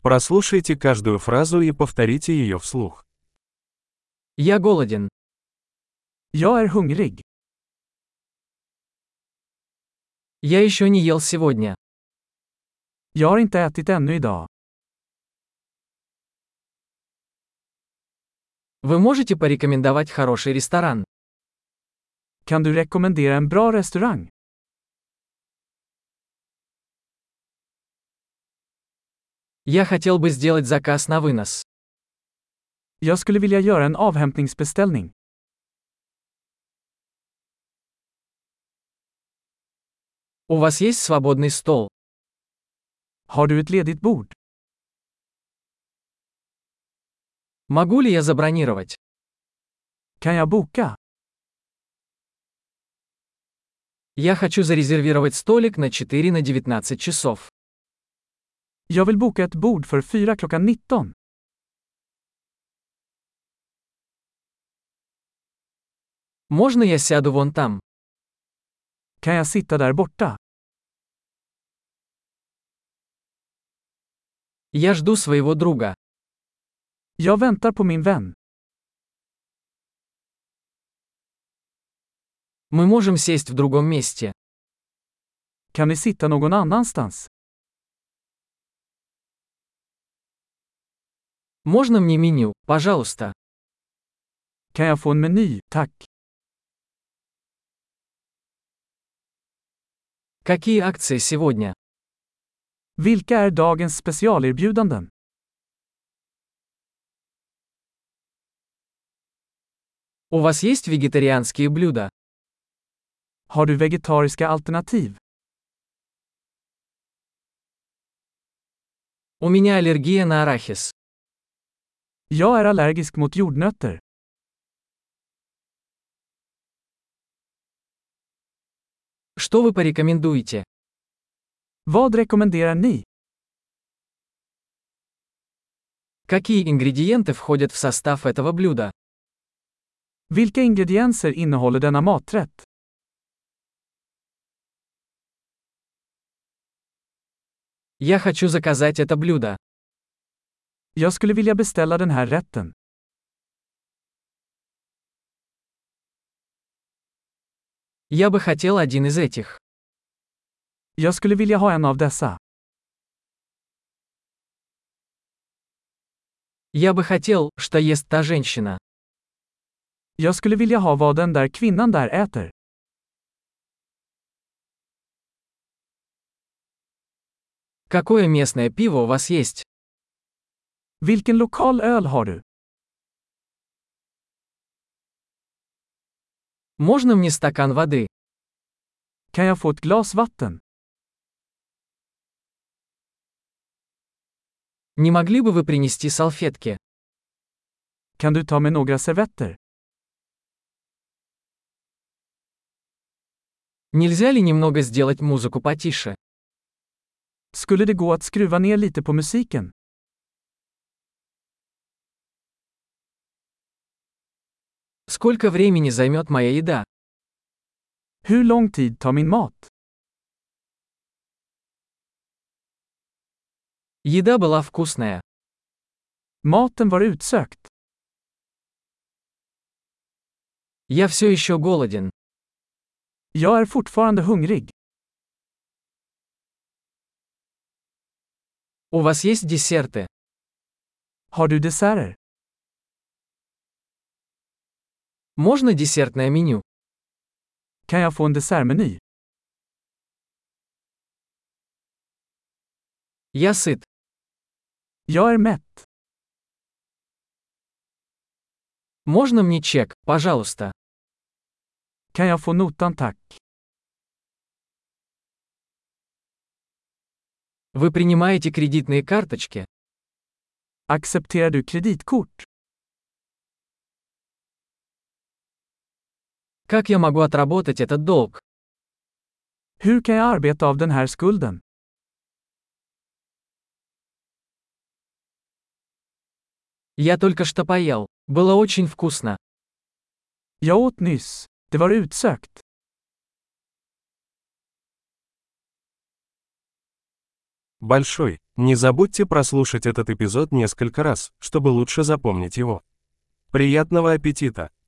Прослушайте каждую фразу и повторите ее вслух. Я голоден. Jag är hungrig. Я еще не ел сегодня. Jag har inte ätit ännu idag. Вы можете порекомендовать хороший ресторан? Kan du rekommendera en bra restaurang? Я хотел бы сделать заказ на вынос. Jag skulle vilja göra en avhämtningsbeställning. У вас есть свободный стол? Har du ett ledigt bord? Могу ли я забронировать? Kan jag boka? Я хочу зарезервировать столик на 4 на 19 часов. Jag vill boka ett bord för 4 klockan 19. Можно я сяду вон там? Kan jag sitta där borta? Я жду своего друга. Jag väntar på min vän. Мы можем сесть в другом месте. Kan vi sitta någon annanstans? Можно мне меню, пожалуйста? Kan jag få en meny, tack? Какие акции сегодня? Vilka är dagens specialerbjudanden? У вас есть вегетарианские блюда? Har du vegetariska alternativ? У меня аллергия на арахис. Jag är allergisk mot jordnötter. Что вы порекомендуете? Vad rekommenderar ni? Какие ингредиенты входят в состав этого блюда? Vilka ingredienser innehåller denna maträtt? Я хочу заказать это блюдо. Jag skulle vilja beställa den här rätten. Я бы хотел один из этих. Jag skulle vilja ha en av dessa. Я бы хотел, что ест та женщина. Jag skulle vilja ha vad den där kvinnan där äter. Какое местное пиво у вас есть? Vilken lokal öl har du? Можно мне стакан воды? Kan jag få ett glas vatten? Не могли бы вы принести салфетки? Kan du ta med några servetter? Нельзя ли немного сделать музыку потише? Skulle det gå att skruva ner lite på musiken? Сколько времени займет моя еда? Hur lång tid tar min mat? Еда была вкусная. Maten var utsökt. Я все еще голоден. Jag är fortfarande hungrig. У вас есть десерты? Har du desserter? Можно десертное меню? Kan jag få en dessertmeny? Я сыт. Jag är mätt. Можно мне чек, пожалуйста? Kan jag få notan tack? Вы принимаете кредитные карточки? Accepterar du kreditkort? Как я могу отработать этот долг? Hur kan jag arbeta av den här skulden? Я только что поел. Было очень вкусно. Jag åt nyss. Det var utsökt. Большой. Не забудьте прослушать этот эпизод несколько раз, чтобы лучше запомнить его. Приятного аппетита!